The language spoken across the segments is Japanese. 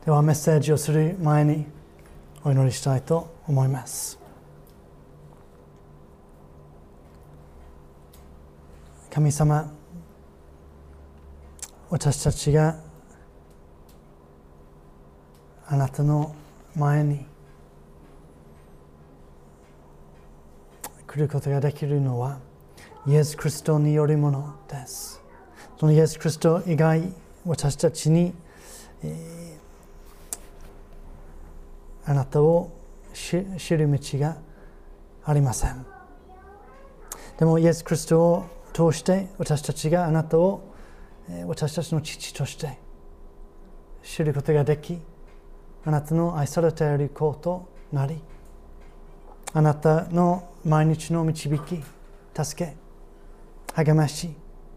ではメッセージをする前にお祈りしたいと思います。神様、私たちがあなたの前に来ることができるのはイエス・キリストによるものです。そのイエス・キリスト以外、私たちにあなたを知る道がありません。でもイエス・キリストを通して私たちがあなたを私たちの父として知ることができ、あなたの愛されている子となり、あなたの毎日の導き、助け、励まし、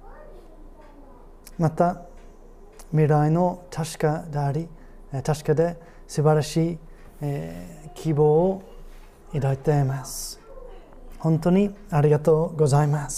また未来の確かで素晴らしい希望を抱いています。本当にありがとうございます。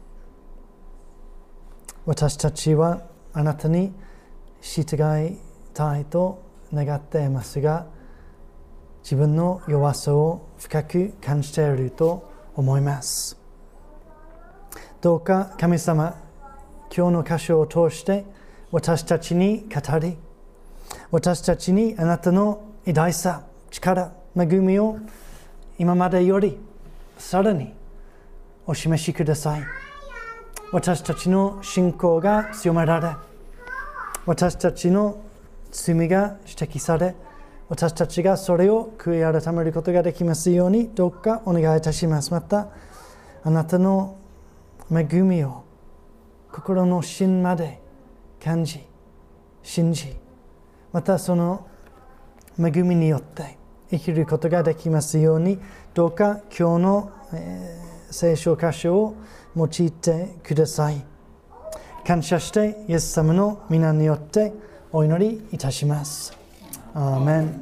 私たちはあなたに従いたいと願っていますが、自分の弱さを深く感じていると思います。どうか神様、今日の箇所を通して私たちに語り、私たちにあなたの偉大さ、力、恵みを今までよりさらにお示しください。私たちの信仰が強められ、私たちの罪が指摘され、私たちがそれを悔い改めることができますように、どうかお願いいたします。また、あなたの恵みを心の芯まで感じ、信じ、またその恵みによって生きることができますように、どうか今日の、聖書箇所を用いてください。感謝してイエス様の皆によってお祈りいたします。アーメン。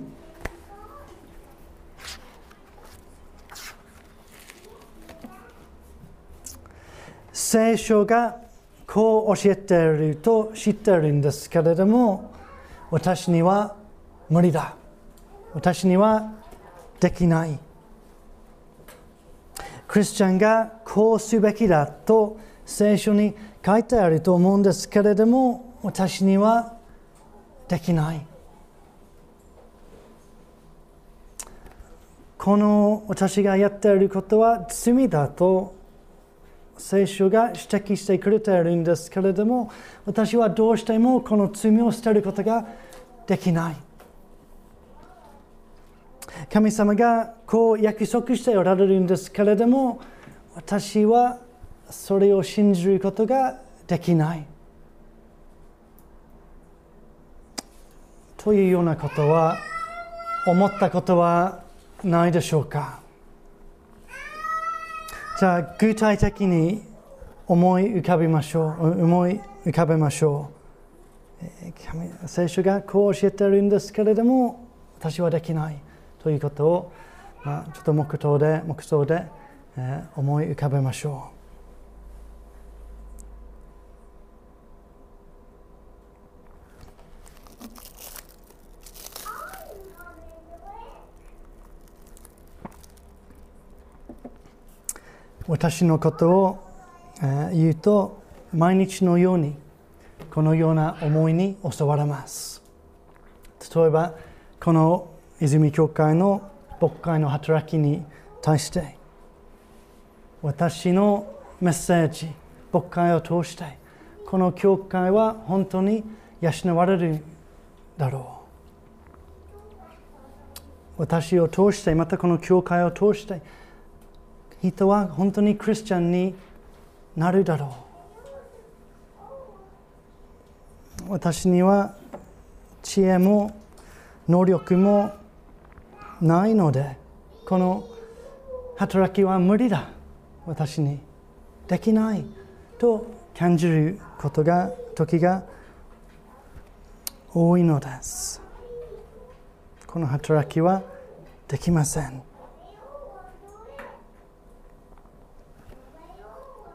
聖書がこう教えていると知っているんですけれども、私には無理だ。私にはできない。クリスチャンがこうすべきだと聖書に書いてあると思うんですけれども、私にはできない。この私がやっていることは罪だと聖書が指摘してくれているんですけれども、私はどうしてもこの罪を捨てることができない。神様がこう約束しておられるんですけれども、私はそれを信じることができない。というようなことは思ったことはないでしょうか。じゃあ具体的に思い浮かべましょう。聖書がこう教えているんですけれども、私はできないということを、ちょっと黙想で、思い浮かべましょう。私のことを言うと、毎日のようにこのような思いに襲われます。例えばこの泉教会の牧会の働きに対して、私のメッセージ、牧会を通してこの教会は本当に養われるだろう。私を通して、またこの教会を通して人は本当にクリスチャンになるだろう。私には知恵も能力もないので、この働きは無理だ。私にできないと感じる時が多いのです。この働きはできません。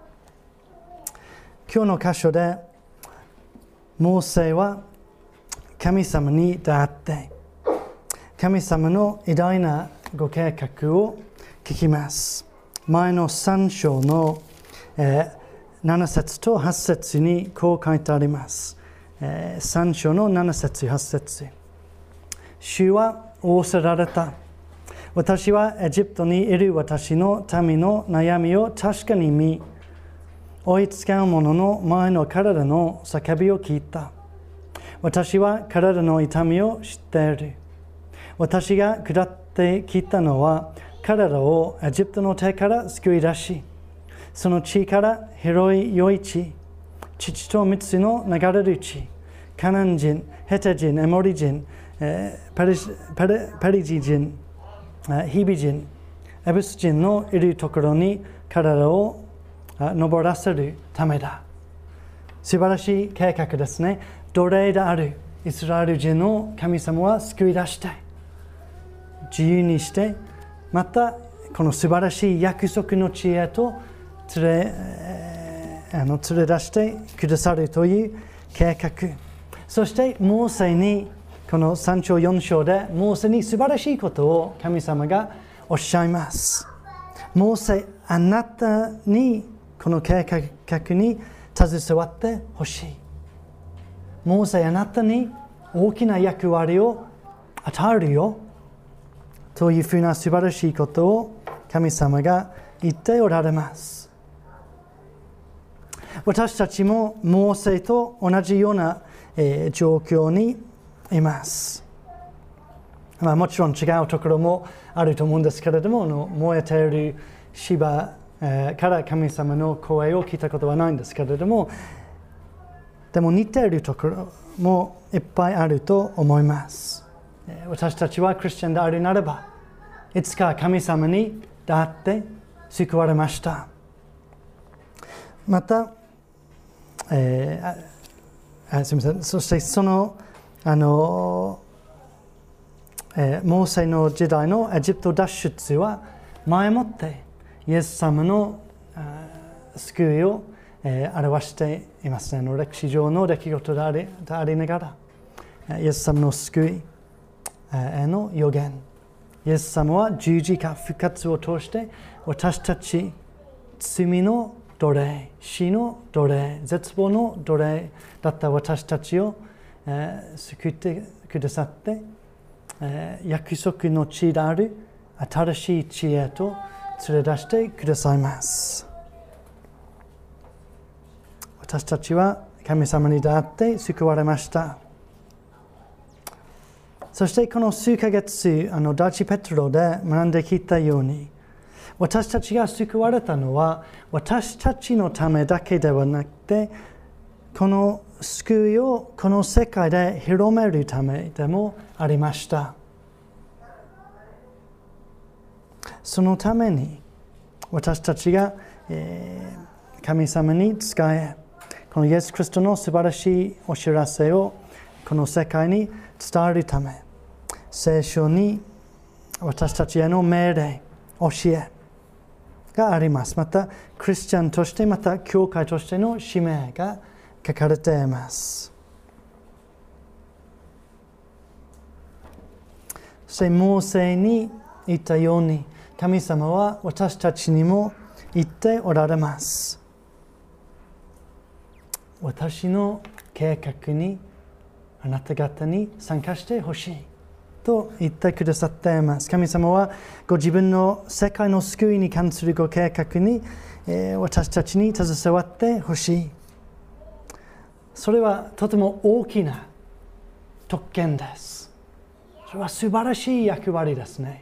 今日の箇所でモーセは神様に出会って神様の偉大なご計画を聞きます。前の3章の、7節と8節にこう書いてあります。3章の7節8節。主は仰せられた。私はエジプトにいる私の民の悩みを確かに見、追いつかう者の前の体の叫びを聞いた。私は体の痛みを知っている。私が下ってきたのは、体をエジプトの手から救い出し、その地から広い良い地、乳と蜜の流れる地、カナン人、ヘテ人、エモリ人、ペリジ人、ヒビ人、エブス人のいるところに体を登らせるためだ。素晴らしい計画ですね。奴隷であるイスラエル人の神様は救い出して、自由にして、またこの素晴らしい約束の地へと連れ出してくださるという計画。そしてモーセにこの3章4章でモーセに素晴らしいことを神様がおっしゃいます。モーセ、あなたにこの計画に携わってほしい。モーセ、あなたに大きな役割を与えるよというふうな素晴らしいことを神様が言っておられます。私たちもモーセと同じような、状況にいます。もちろん違うところもあると思うんですけれども、燃えている芝から神様の声を聞いたことはないんですけれども、でも似ているところもいっぱいあると思います。私たちはクリスチャンであるならば、いつか神様に出会って救われました。また、すみません。そしてそのモーセの時代のエジプト脱出は前もってイエス様の救いを表していますね。歴史上の出来事でありながら、イエス様の救いへの予言。イエス様は十字架復活を通して私たち罪の奴隷、死の奴隷、絶望の奴隷だった私たちを救ってくださって、約束の地である新しい地へと連れ出してくださいます。私たちは神様に出会って救われました。そしてこの数ヶ月、第一ペテロで学んできたように、私たちが救われたのは私たちのためだけではなくて、この救いをこの世界で広めるためでもありました。そのために私たちが、神様に仕え、このイエス・キリストの素晴らしいお知らせをこの世界に伝えるため、聖書に私たちへの命令、教えがあります。また、クリスチャンとして、また、教会としての使命が書かれています。そして、モーセに言ったように、神様は私たちにも言っておられます。私の計画にあなた方に参加してほしいと言ってくださっています。神様はご自分の世界の救いに関するご計画に、私たちに携わってほしい。それはとても大きな特権です。それは素晴らしい役割ですね。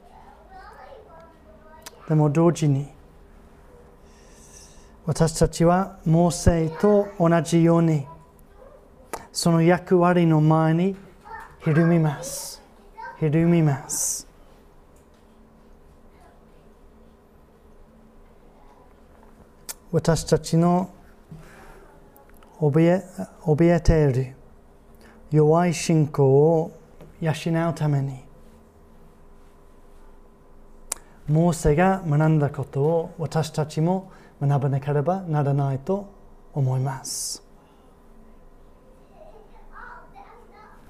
でも同時に私たちはモーセと同じようにその役割の前にひるみます。ひるみます。私たちの怯えている弱い信仰を養うために、モーセが学んだことを私たちも学ばなければならないと思います。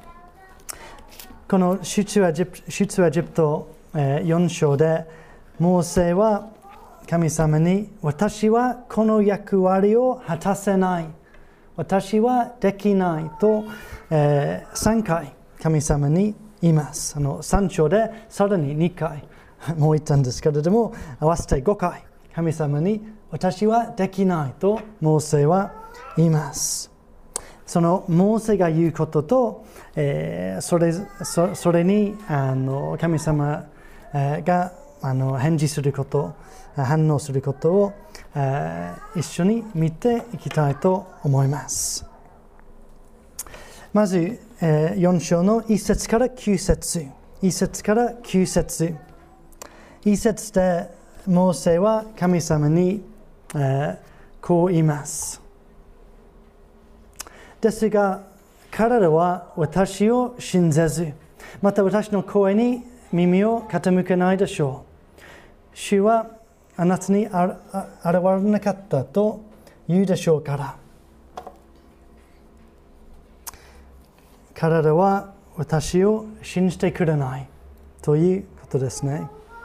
この出エジプト4章で、モーセは神様に、私はこの役割を果たせない、私はできないと、3回神様に言います。3章でさらに2回もう言ったんですけれども、合わせて5回神様に、私はできないとモーセは言います。そのモーセが言うことと、それに神様が返事すること、反応することを一緒に見ていきたいと思います。まず4章の1節から9節、1節から9節、1節でモーセは神様にこう言います。ですが彼らは私を信ぜず、また私の声に耳を傾けないでしょう。主はあなたに現れなかったと言うでしょうから。彼らは私を信じてくれないということですね。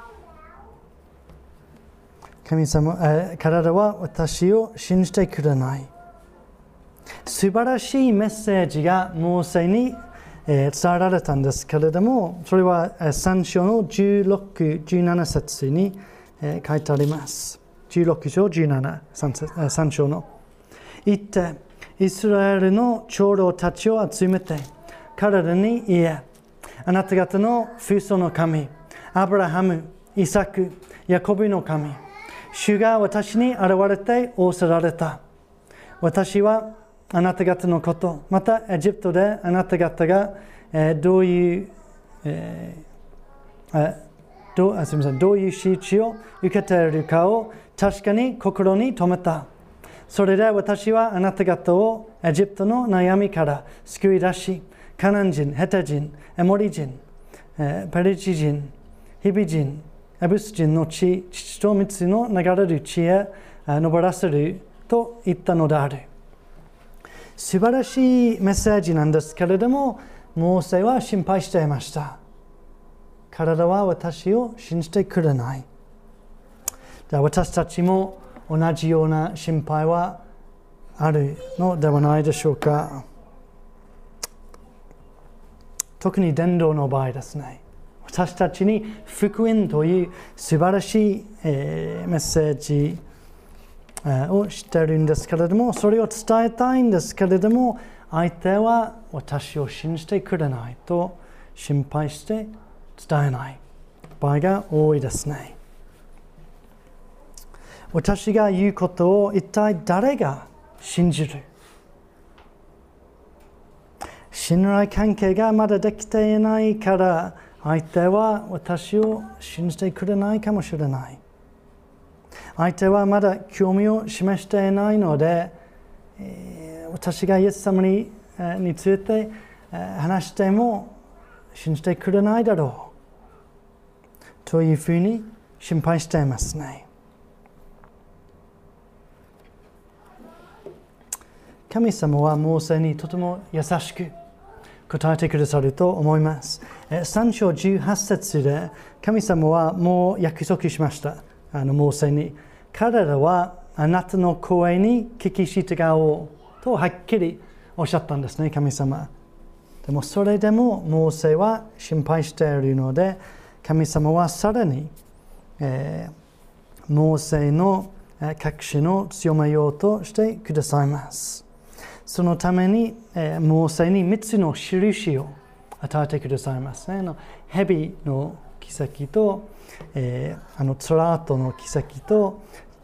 神様、彼らは私を信じてくれない。素晴らしいメッセージがモーセに伝えられたんですけれども、それは3章の16、17節に書いてあります。16章17、3章の。言って、イスラエルの長老たちを集めて、彼らに言え、あなた方の父祖の神、アブラハム、イサク、ヤコブの神、主が私に現れて仰せられた。私はあなた方のこと、またエジプトであなた方がどういう仕打ちを受けているかを確かに心に留めた。それで私はあなた方をエジプトの悩みから救い出し、カナン人、ヘテ人、エモリ人、ペリチ人、ヒビ人、エブス人の父と蜜の流れる地へ登らせると言ったのである。素晴らしいメッセージなんですけれども、モーセは心配していました。彼らは私を信じてくれない。私たちも同じような心配はあるのではないでしょうか。特に伝道の場合ですね。私たちに福音という素晴らしいメッセージを知っているんですけれども、それを伝えたいんですけれども、相手は私を信じてくれないと心配して伝えない場合が多いですね。私が言うことを一体誰が信じる？信頼関係がまだできていないから、相手は私を信じてくれないかもしれない。相手はまだ興味を示していないので、私がイエス様について話しても信じてくれないだろうというふうに心配していますね。神様はモーセにとても優しく答えてくださると思います。3章18節で神様はもう約束しました。モーセに、彼らはあなたの声に聞き従おうとはっきりおっしゃったんですね、神様。でもそれでもモーセは心配しているので、神様はさらに、モーセの確信を強めようとしてくださいます。そのために、モーセに3つの印を与えてくださいますね。蛇の奇跡と、ツラートの奇跡と、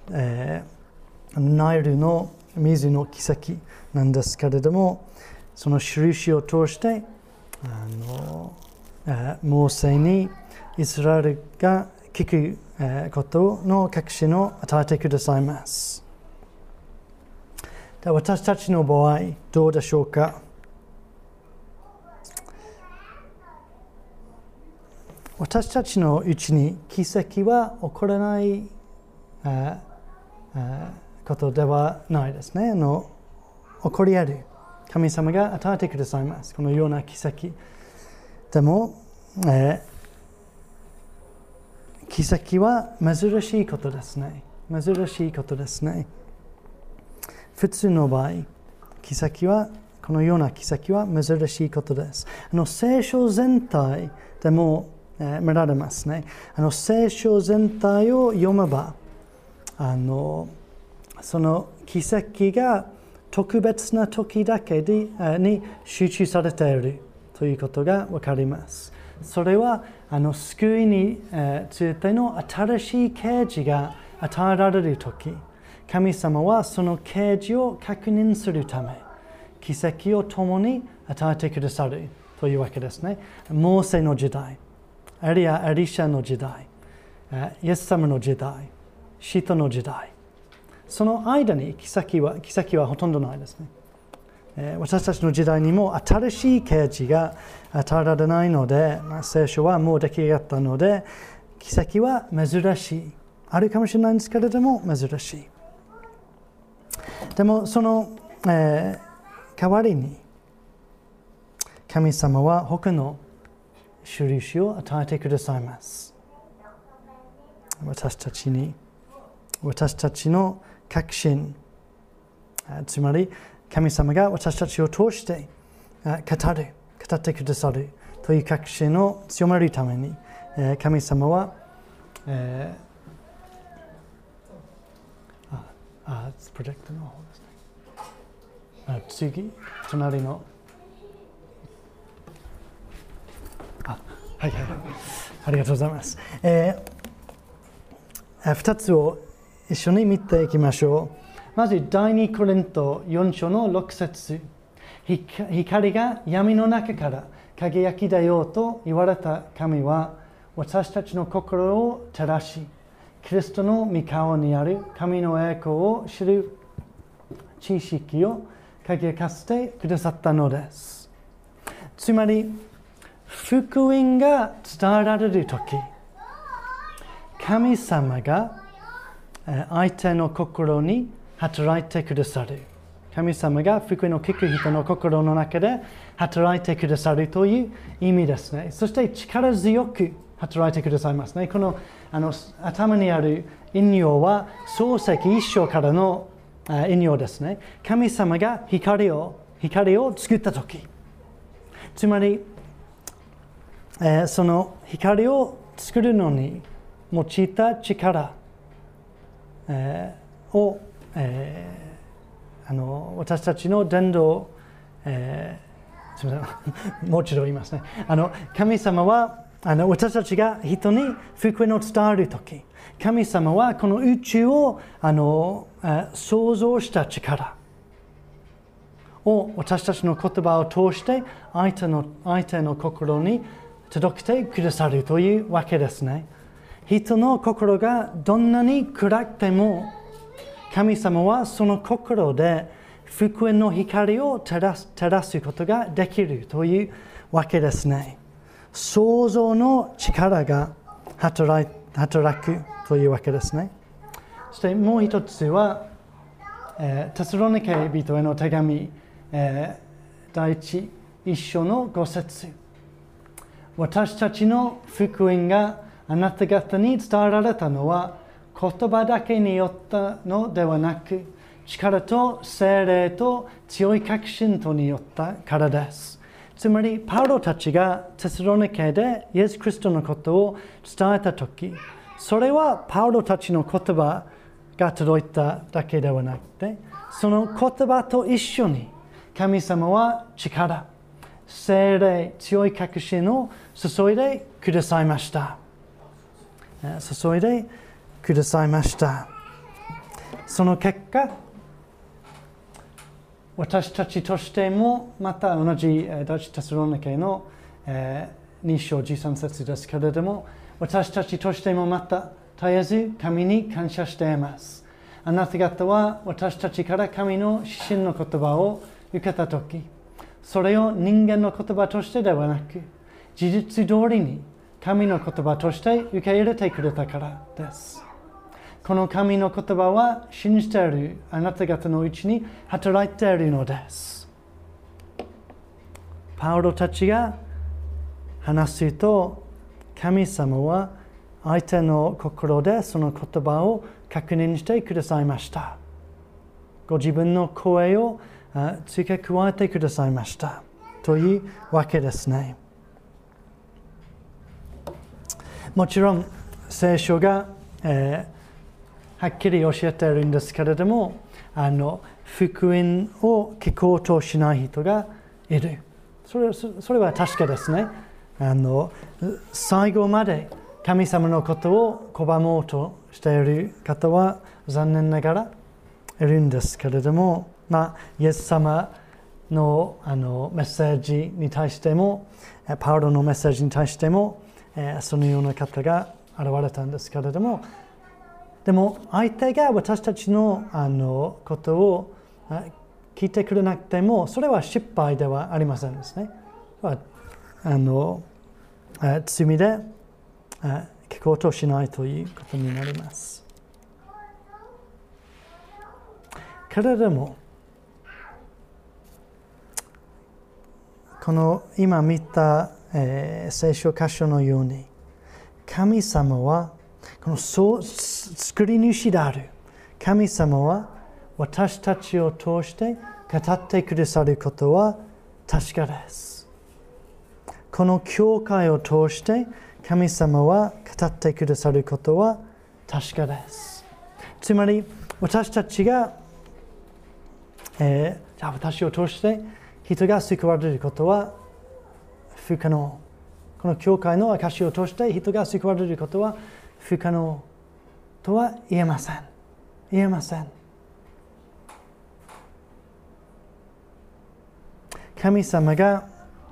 ナイルの水の奇跡なんですけれども、その印を通してモーセにイスラエルが聞くことの確信を与えてくださいます。私たちの場合どうでしょうか。私たちのうちに奇跡は起こらないことではないですね。起こり得る。神様が与えてくださいます。このような奇跡。 でも、奇跡は珍しいことですね。珍しいことですね。普通の場合、このような奇跡は珍しいことです。聖書全体でも、見られますね。聖書全体を読めば、その奇跡が特別な時だけに集中されているということがわかります。それは救いについての新しい啓示が与えられる時、神様はその啓示を確認するため、奇跡を共に与えてくださるというわけですね。モーセの時代、エリシャの時代、イエス様の時代、使徒の時代、その間に奇跡はほとんどないですね。私たちの時代にも新しい啓示が与えられないので、聖書はもう出来上がったので、奇跡は珍しい。あるかもしれないんですけれども、珍しい。でも、その、代わりに、神様は他の印を与えてくださいます。私たちの確信、つまり神様が私たちを通して語ってくださるという確信を強めるために、神様は、プロジェクトの方ですね。次、隣の。はい、ありがとうございます。2つを一緒に見ていきましょう。まず、第2コリント4章の6節。光が闇の中から輝き出ようと言われた神は、私たちの心を照らし、キリストの御顔にある神の栄光を知る知識を輝かせてくださったのです。つまり、福音が伝えられるとき、神様が相手の心に働いてくださる。神様が福音を聞く人の心の中で働いてくださるという意味ですね。そして力強く働いてくださいますね。この頭にある引用は創世記1章からの引用ですね。神様が光を作ったとき、つまりその光を作るのに用いた力を、私たちの伝道、すみませんもう一度言いますね。神様は私たちが人に福音を伝えるとき、神様はこの宇宙を創造した力を私たちの言葉を通して相手の心に届けてくださるというわけですね。人の心がどんなに暗くても、神様はその心で福音の光を照らすことができるというわけですね。創造の力が働くというわけですね。そしてもう一つは、テサロニケ人への手紙、第1章の5節。私たちの福音があなた方に伝えられたのは言葉だけによったのではなく、力と精霊と強い確信とによったからです。つまりパウロたちがテサロニケでイエス・キリストのことを伝えたとき、それはパウロたちの言葉が届いただけではなくて、その言葉と一緒に神様は力、精霊、強い確信を注いでくださいました。その結果、私たちとしてもまた同じ第一テサロニケの2章13節ですけれども、私たちとしてもまた絶えず神に感謝しています。あなた方は私たちから神の指針の言葉を受けたとき、それを人間の言葉としてではなく、事実通りに神の言葉として受け入れてくれたからです。この神の言葉は信じているあなた方のうちに働いているのです。パウロたちが話すと、神様は相手の心でその言葉を確認してくださいました。ご自分の声を付け加えてくださいましたというわけですね。もちろん聖書が、はっきり教えているんですけれども、福音を聞こうとしない人がいる。それは確かですね。最後まで神様のことを拒もうとしている方は残念ながらいるんですけれども、イエス様の、メッセージに対しても、パウロのメッセージに対しても、そのような方が現れたんですけれども、でも相手が私たちの、ことを聞いてくれなくても、それは失敗ではありませんですね。罪で聞こうとしないということになります。けれども、この今見た、聖書箇所のように、神様はこの作り主である神様は私たちを通して語ってくださることは確かです。この教会を通して神様は語ってくださることは確かです。つまり私たちが、じゃあ私を通して人が救われることは不可能。この教会の証を通して人が救われることは不可能とは言えません。言えません。神様が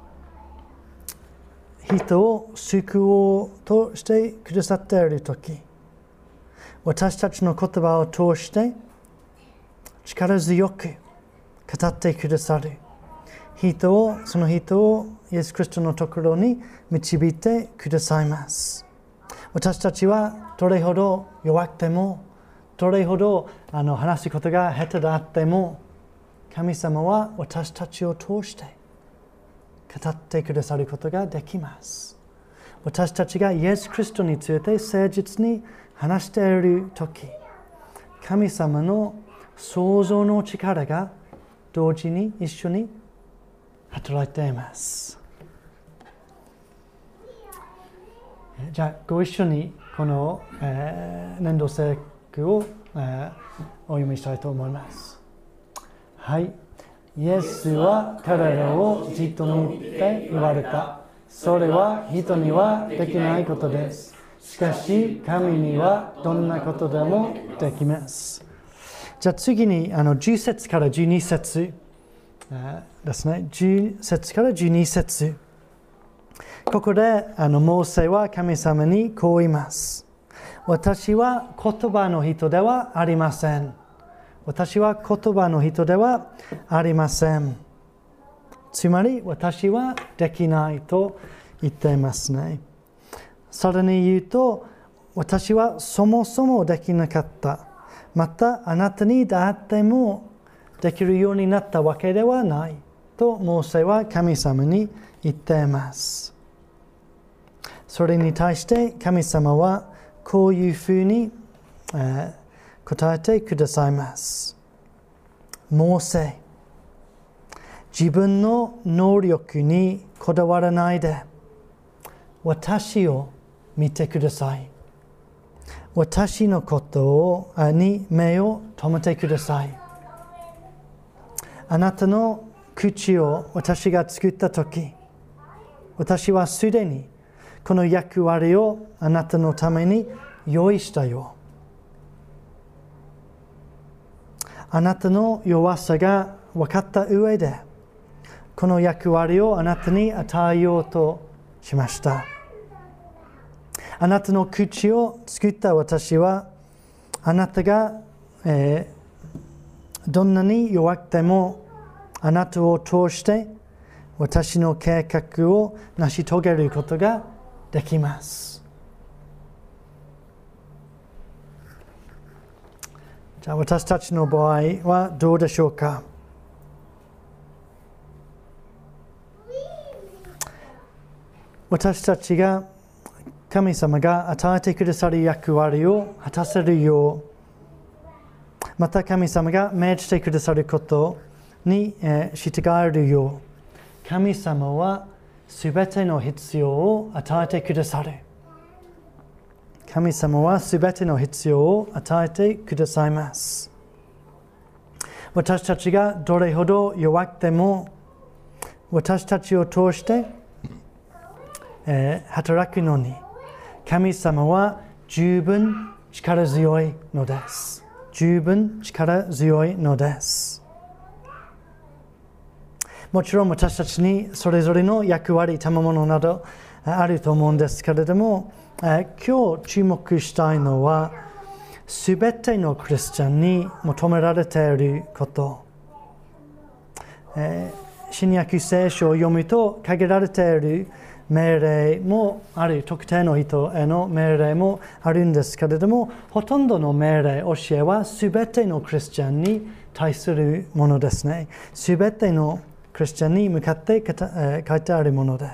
人を救おうとしてくださっているとき、私たちの言葉を通して力強く語ってくださるその人をイエス・キリストのところに導いてくださいます。私たちはどれほど弱くても、どれほど話すことが下手であっても、神様は私たちを通して語ってくださることができます。私たちがイエス・キリストについて誠実に話しているとき、神様の創造の力が同時に一緒に働いています。じゃあご一緒にこの、年度聖句を、お読みしたいと思います。はい。イエスは彼らをじっと見て言われた。それは人にはできないことです。しかし神にはどんなことでもできます。じゃあ次に10節から12節ですね。10節から12節。ここでモーセは神様にこう言います。私は言葉の人ではありません。私は言葉の人ではありません。つまり私はできないと言っていますね。さらに言うと、私はそもそもできなかった。またあなたに出会ってもできるようになったわけではないとモーセは神様に言っています。それに対して神様はこういうふうに、答えてくださいます。モーセ、自分の能力にこだわらないで、私を見てください。私のことに目を留めてください。あなたの口を私が作ったとき、私はすでにこの役割をあなたのために用意したよ。あなたの弱さが分かった上で、この役割をあなたに与えようとしました。あなたの口を作った私は、あなたが、どんなに弱くても、あなたを通して私の計画を成し遂げることができます。じゃあ私たちの場合はどうでしょうか。 私たちが神様が与えてくださる役割を果たせるよう、また神様が命じてくださることに従えるよう、神様はすべての必要を与えてくださる。神様はすべての必要を与えてくださいます。私たちがどれほど弱くても、私たちを通して、働くのに、神様は十分力強いのです。十分力強いのです。もちろん私たちにそれぞれの役割、賜物などあると思うんですけれども、今日注目したいのは、すべてのクリスチャンに求められていること。新約聖書を読むと限られている命令もある、特定の人への命令もあるんですけれども、ほとんどの命令、教えはすべてのクリスチャンに対するものですね。すべてのクリスチャンに向かって書いてあるものです。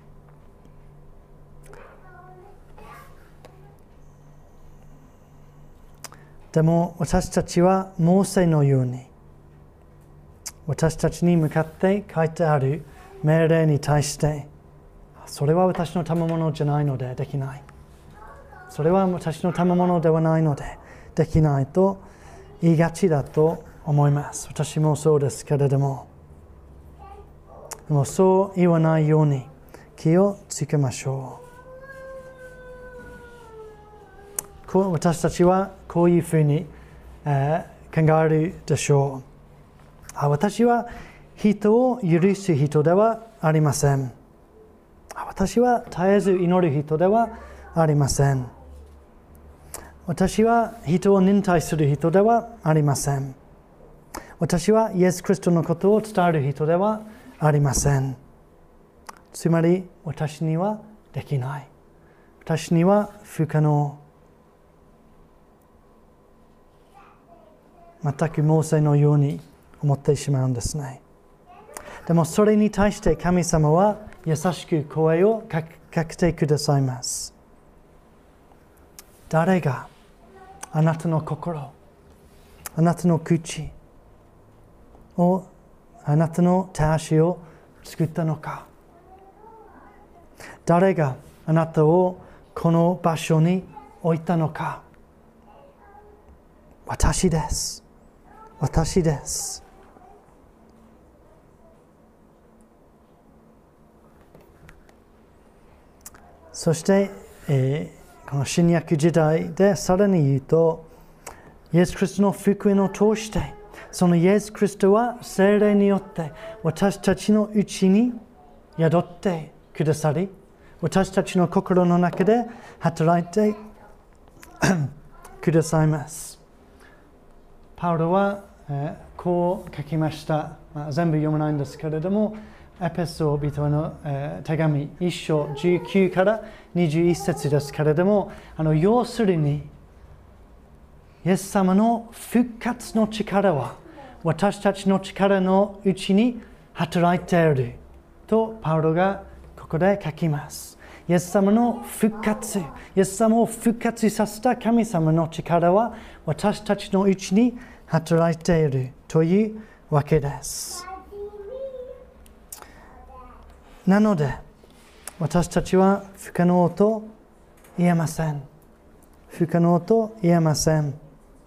でも私たちはモーセのように、私たちに向かって書いてある命令に対して、それは私の賜物じゃないのでできない。それは私の賜物ではないのでできないと言いがちだと思います。私もそうですけれども、でもそう言わないように気をつけましょう。私たちはこういうふうに、考えるでしょう。私は人を許す人ではありません。私は絶えず祈る人ではありません。私は人を忍耐する人ではありません。私はイエス・キリストのことを伝える人ではありません。つまり私にはできない。私には不可能。全くモーセのように思ってしまうんですね。でもそれに対して神様は優しく声をかけてくださいます。誰があなたの心、あなたの口を、あなたの手足を作ったのか。誰があなたをこの場所に置いたのか。私です。私です。そして、この新約時代でさらに言うと、イエス・キリストの福音を通して、そのイエス・キリストは聖霊によって私たちのうちに宿ってくださり、私たちの心の中で働いてくださいます。パウロは、こう書きました。全部読まないんですけれども、エペソビトの、手紙1章19から21節ですけれども、要するに、イエス様の復活の力は私たちの力のうちに働いているとパウロがここで書きます。イエス様の復活、イエス様を復活させた神様の力は私たちのうちに働いているというわけです。なので私たちは不可能と言えません。不可能と言えません。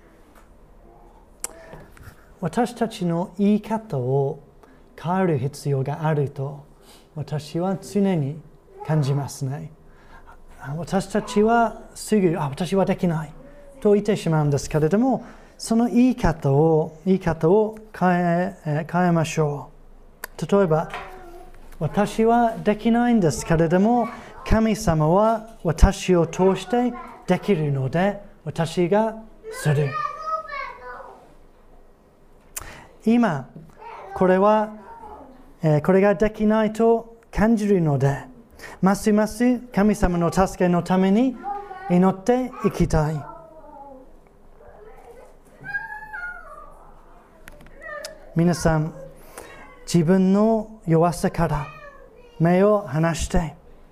私たちの言い方を変える必要があると私は常に感じますね。私たちはすぐ私はできないと言ってしまうんですけれども、その言い方を変えましょう。例えば、私はできないんですけれども、神様は私を通してできるので、私がする。今、これができないと感じるので、ますます神様の助けのために祈っていきたい。皆さん、自分の弱さから目を離して、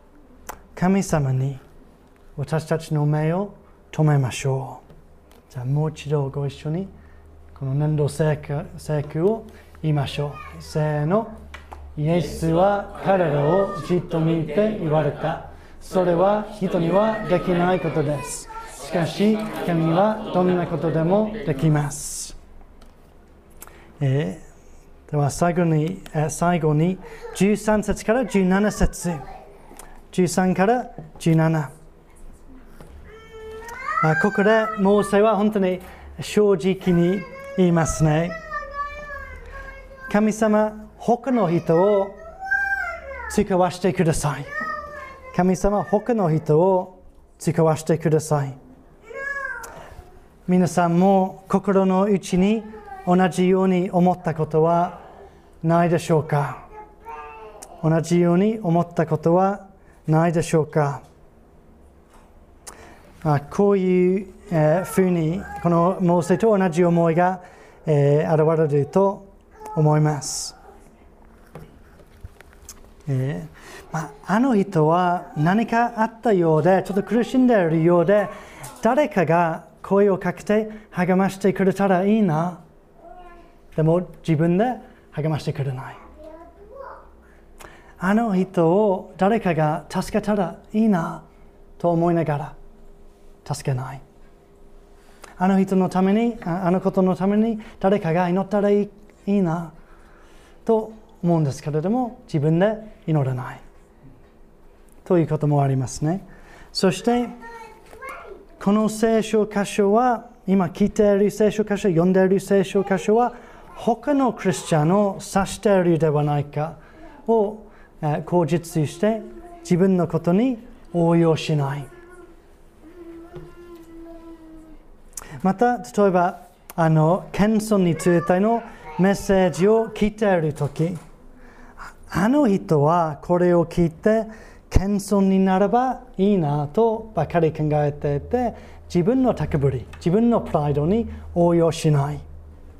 神様に私たちの目を留めましょう。じゃあもう一度ご一緒にこの年度聖句を言いましょう。せーの。イエスは彼らをじっと見て言われた。それは人にはできないことです。しかし神はどんなことでもできます。では最後に13節から17節。13から17。ここでモーセは本当に正直に言いますね。神様、他の人を使わせてください。神様、他の人を使わせてください。皆さんも心の内に同じように思ったことはないでしょうか？同じように思ったことはないでしょうか？こういうふうにこのモーセと同じ思いが現れると思います。あの人は何かあったようで、ちょっと苦しんでいるようで、誰かが声をかけて励ましてくれたらいいな。でも自分で励ましてくれない。あの人を誰かが助けたらいいなと思いながら助けない。あの人のために、あのことのために誰かが祈ったらいいなと思うんですけれども、自分で祈らないということもありますね。そしてこの聖書箇所は、今聞いている聖書箇所、読んでいる聖書箇所は他のクリスチャンを指しているではないかを口実して自分のことに応用しない。また例えば謙遜についてのメッセージを聞いているとき、あの人はこれを聞いて謙遜になればいいなとばかり考えていて、自分の高ぶり、自分のプライドに応用しない。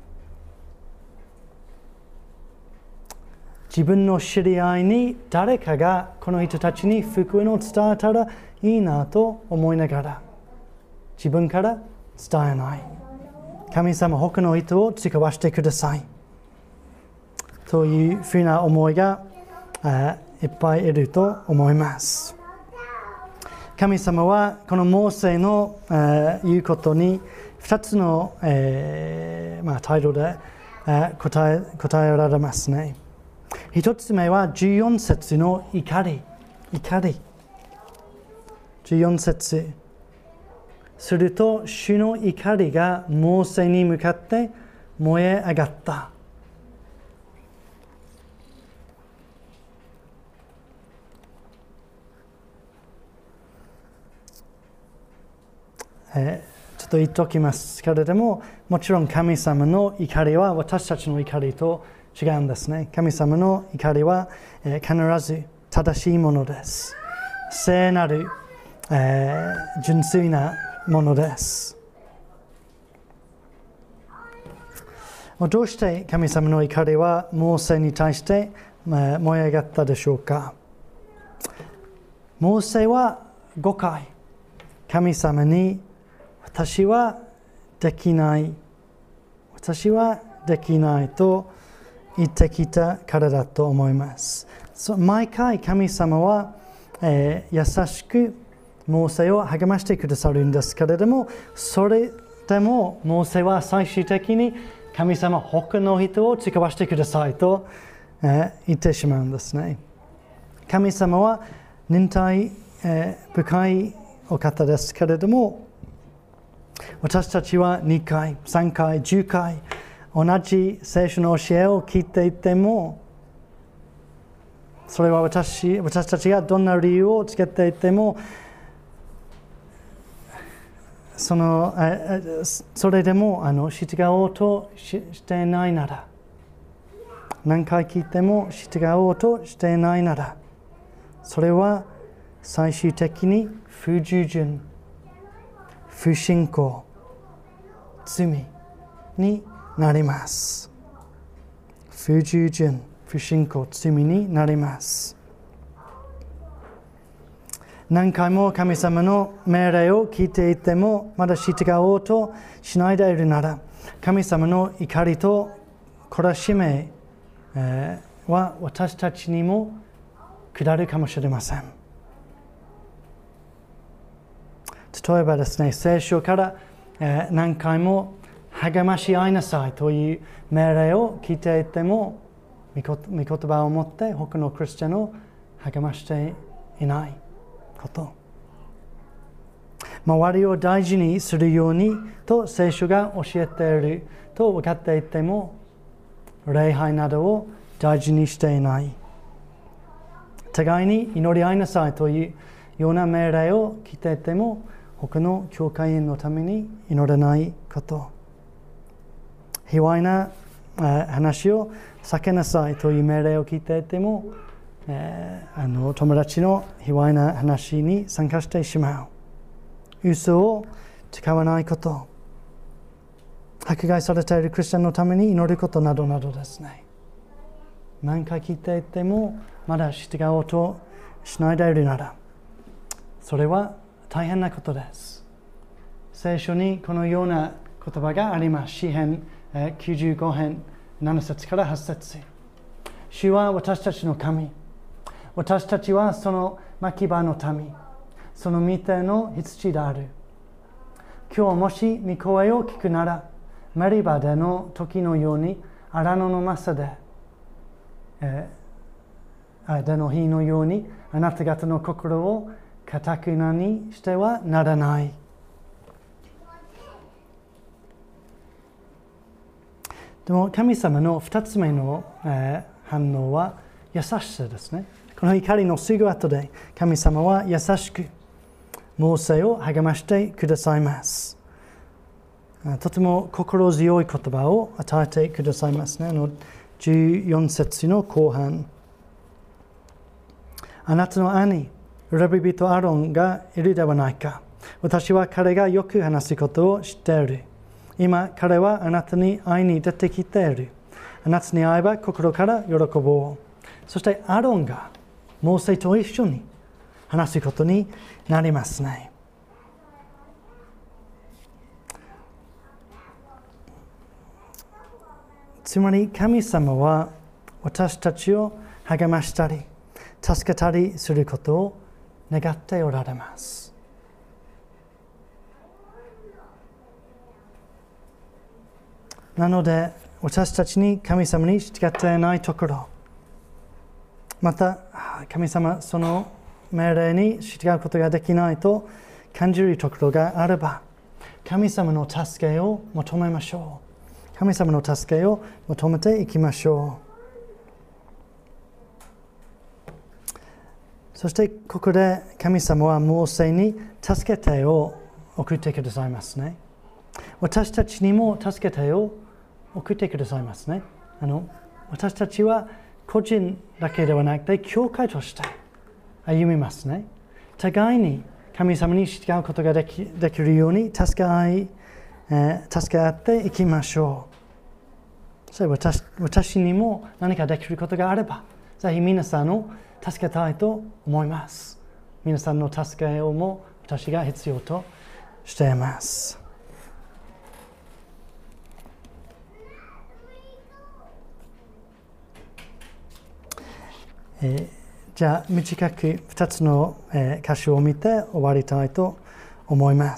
自分の知り合いに誰かがこの人たちに福音を伝えたらいいなと思いながら自分から伝えない。神様、他の人を使わせてくださいというふうな思いがいっぱいいると思います。神様はこのモーセの言うことに2つの態度で答えられますね。1つ目は14節の怒り。14節。すると主の怒りがモーセに向かって燃え上がった。ちょっと言っておきますけれども、もちろん神様の怒りは私たちの怒りと違うんですね。神様の怒りは、必ず正しいものです。聖なる、純粋なものです。どうして神様の怒りはモーセに対して燃え上がったでしょうか。モーセは5回神様に私はできないと言ってきたからだと思います。毎回神様は、優しくモーセを励ましてくださるんですけれども、それでもモーセは最終的に神様、他の人を使わせてくださいと、言ってしまうんですね。神様は忍耐、深いお方ですけれども、私たちは2回、3回、10回同じ聖書の教えを聞いていても、それは私たちがどんな理由をつけていても、それでも従おうとしていないなら、何回聞いても従おうとしていないなら、それは最終的に不従順、不信仰、罪になります。不従順、不信仰、罪になります。 何回も神様の命令を聞いていてもまだ従おうとしないでいるなら、神様の怒りと懲らしめは私たちにも下るかもしれません。例えばですね、聖書から何回も励まし合いなさいという命令を聞いていても、御言葉を持って他のクリスチャンを励ましていないこと。周りを大事にするようにと聖書が教えていると分かっていても、礼拝などを大事にしていない。互いに祈り合いなさいというような命令を聞いていても、他の教会員のために祈らないこと。卑猥な話を避けなさいという命令を聞いていても、友達の卑猥な話に参加してしまう。嘘を使わないこと。迫害されているクリスチャンのために祈ることなどなどですね。何回聞いていてもまだ従おうとしないでいるなら、それは大変なことです。聖書にこのような言葉があります。詩編95編7節から8節。主は私たちの神。私たちはその牧場の民。その御手の羊である。今日もし御声を聞くなら、メリバでの時のように荒野のマサで、の日のようにあなた方の心を堅くなにしてはならない。でも神様の2つ目の、反応は優しさですね。この怒りのすぐ後で神様は優しくモーセを励ましてくださいます。とても心強い言葉を与えてくださいますね。14節の後半。あなたの兄レビ人アロンがいるではないか。私は彼がよく話すことを知っている。今彼はあなたに会いに出てきている。あなたに会えば心から喜ぼう。そしてアロンがモーセと一緒に話すことになりますね。つまり神様は私たちを励ましたり助けたりすることを願っておられます。なので私たちに神様に従っていないところ、また神様その命令に従うことができないと感じるところがあれば、神様の助けを求めましょう。神様の助けを求めていきましょう。そしてここで神様はモーセに助けてを送ってくださいますね。私たちにも助けてを送ってくださいますね。私たちは個人だけではなくて教会として歩みますね。互いに神様に従うことができるように助け合っていきましょう。それ私にも何かできることがあれば、ぜひ皆さんを助けたいと思います。皆さんの助けをも私が必要としています。じゃあ短く2つの箇所を見て終わりたいと思います。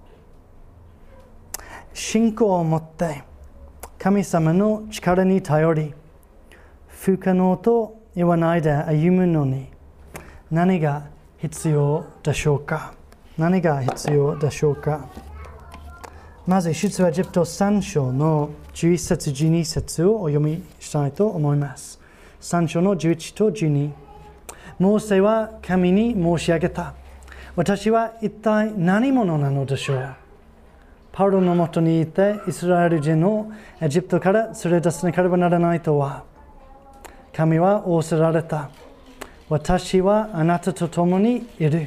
信仰を持って神様の力に頼り、不可能と言わないで歩むのに何が必要でしょうか。何が必要でしょうか。まず出エジプト3章の11節12節をお読みしたいと思います。3章の11と12。モーセは神に申し上げた。私は一体何者なのでしょう。パウロのもとにいてイスラエル人をエジプトから連れ出さなければならないとは。神は仰せられた。私はあなたと共にいる。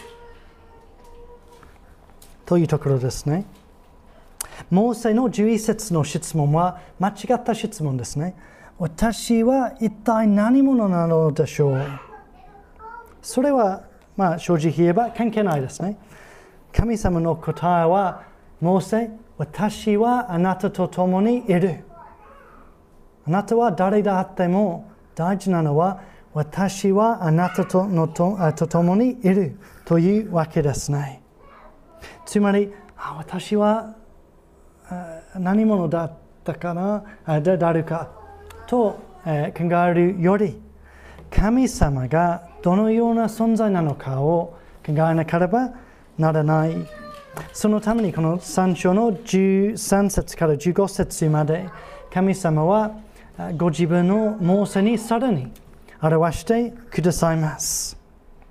というところですね。モーセの11節の質問は間違った質問ですね。私は一体何者なのでしょう。それは正直言えば関係ないですね。神様の答えは、モーセ、私はあなたと共にいる。あなたは誰であっても大事なのは、私はあなたと共にいるというわけですね。つまり、私は何者だったかな、誰かと考えるより、神様がどのような存在なのかを考えなければならない。そのためにこの3章の13節から15節まで、神様はご自分のモーセにさらに表してくださいます。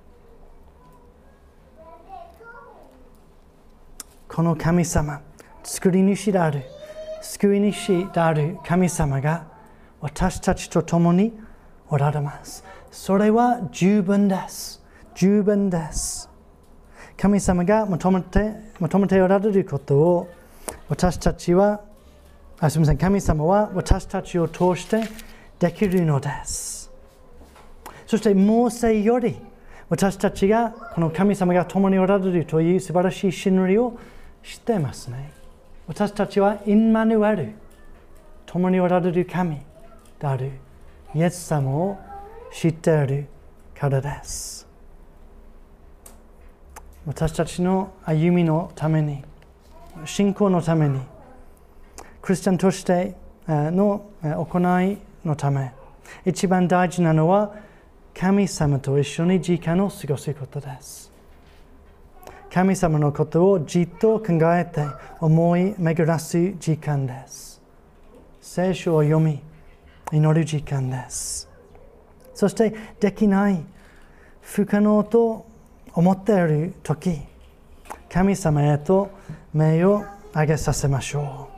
この神様、作り主である、救い主である神様が私たちと共におられます。それは十分です。十分です。神様が求めておられることを私たちは、神様は私たちを通してできるのです。そしてモーセより私たちがこの神様が共におられるという素晴らしい真理を知っていますね。私たちはインマヌエル、共におられる神であるイエス様を知っているからです。私たちの歩みのために、信仰のために、クリスチャンとしての行いのため、一番大事なのは神様と一緒に時間を過ごすことです。神様のことをじっと考えて思い巡らす時間です。聖書を読み、祈る時間です。そしてできない、不可能と思っているとき、神様へと目を上げさせましょ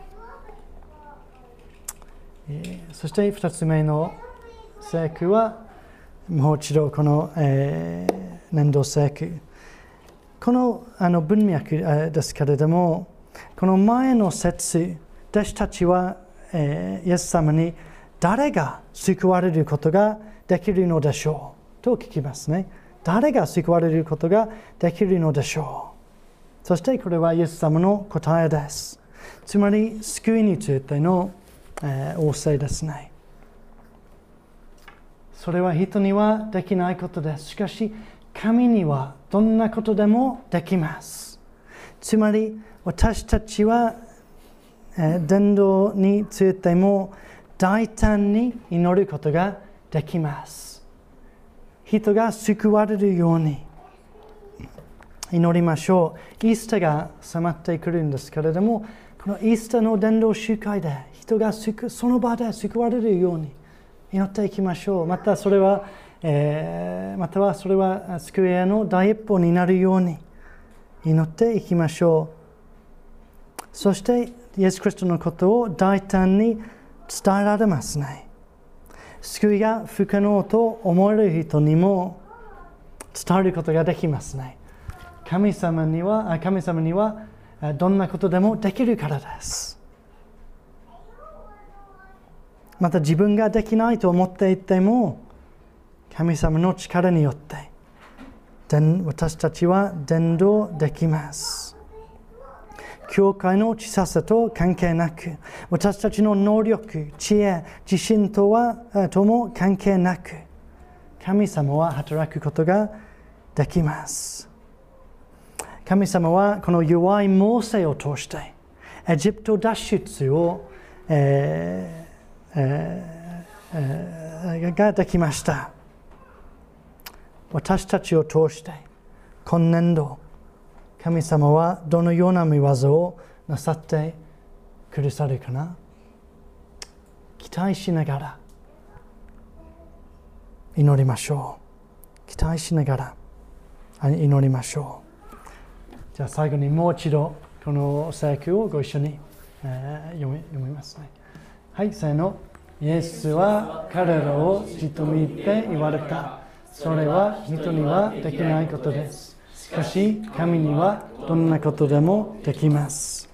う。そして2つ目の聖句は、もう一度この、年度聖句。この文脈ですけれども、この前の節、弟子たちは、イエス様に誰が救われることができるのでしょうと聞きますね。誰が救われることができるのでしょう。そしてこれはイエス様の答えです。つまり救いについての、仰せですね。それは人にはできないことです。しかし神にはどんなことでもできます。つまり私たちは伝道についても大胆に祈ることができます。人が救われるように祈りましょう。イースターが迫ってくるんですけれども、このイースターの伝道集会で人がその場で救われるように祈っていきましょう。またはそれは救いへの第一歩になるように祈っていきましょう。そしてイエス・キリストのことを大胆に伝えられますね。救いが不可能と思える人にも伝えることができますね。神様にはどんなことでもできるからです。また自分ができないと思っていても、神様の力によって私たちは伝道できます。教会の小ささと関係なく、私たちの能力、知恵、自信とも関係なく、神様は働くことができます。神様はこの弱いモーセを通してエジプト脱出を、ができました。私たちを通して今年度神様はどのような御業をなさってくださるかな。期待しながら祈りましょう。期待しながら祈りましょう。じゃあ最後にもう一度この聖句をご一緒に、読みますね。はい、せーの。イエスは彼らをじと見て言われた。それは人にはできないことです。しかし神にはどんなことでもできます。